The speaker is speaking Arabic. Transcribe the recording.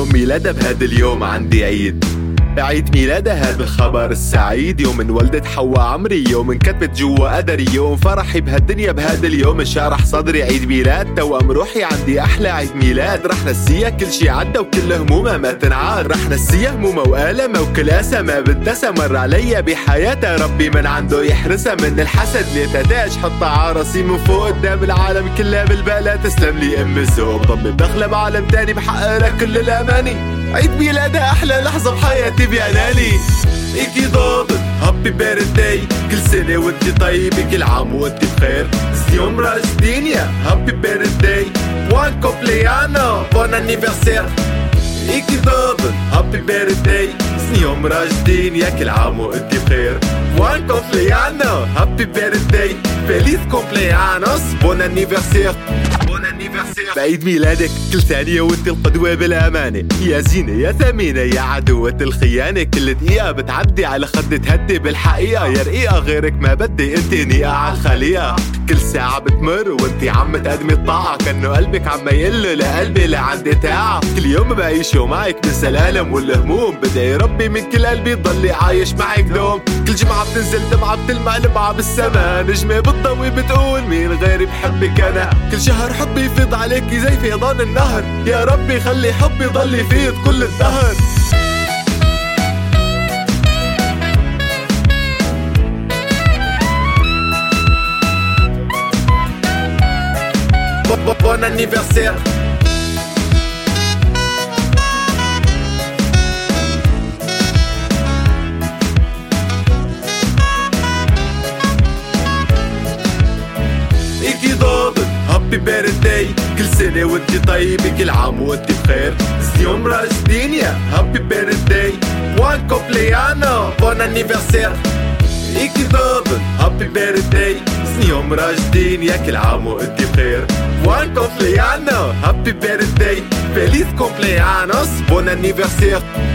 يوم ميلادها بهذا اليوم عندي عيد ميلادها هذا الخبر السعيد. يوم انولدت حواء عمري، يوم انكتبت جوا قدري، يوم فرحي بهالدنيا بهذا اليوم انشرح صدري. عيد ميلاد توأم روحي عندي أحلى عيد ميلاد. رح نسيها كل شي عدى وكل همومها ما تنعاد. رح نسيها همومها وآلمها وكل أسى ما بدسها مر عليا بحياتها. ربي من عنده يحرسها من الحسد. ليتها تاج حطها عراسي من فوق قدام العالم كلها بالبالة. تسلم لي أم الذوق، ضمي بدخلها بعالم تاني بحقق لك كل الأماني. عيد ميلادها أحلى لحظة بحياتي بعناني. إيكي ضابط هابي بيرثداي، كل سنة وانتي طيبة، كل عام وانتي بخير. يوم راجدين يا هابي بيرثداي، بوان كومبليانو بون انيفرسير. إيكي ضابط هابي بيرثداي، يوم راجدين يا كل عام وانتي بخير. بوان كومبليانو هابي بيرثداي، فيليس كومبليانوس بون انيفرسير. بعيد ميلادك كل ثانية وانت القدوة بالأمانة. يا زينة يا ثمينة يا عدوة الخيانة، كل دقيقة بتعدي على خد تهدي بالحقيقة. يا رقيقة غيرك ما بدي انت نيقة عالخليقة. كل ساعة بتمر وانت عم تقدمي الطاعة، كأنه قلبك عم يقله لقلبي لعندي تاعة. كل يوم بعيشه معك بنسى الألم والهموم، بدعي ربي من كل قلبي ضلي عايش معك دوم. كل جمعة بتنزل دمعة بتلمع لمعة بالسما، نجمة بتضوي بتقول مين غيري بحبك أنا. كل شهر حبي يفيض عليكي زي فيضان النهر، يا ربي خلي حبي ضل يفيض كل الدهر. Bon anniversaire. إيكي ضابط هابي بيرثداي، كل سنة وانتي طيبة، كل عام وانتي بخير. يوم راجدين يا هابي بيرثداي، بوان كومبليانو بون انيفرسير. إيكي ضابط هابي بيرثداي، يوم راجدين يا كل عام وانتي بخير. بوان كومبليانو هابي بيرثداي، فيليس كومبليانوس بون انيفرسير.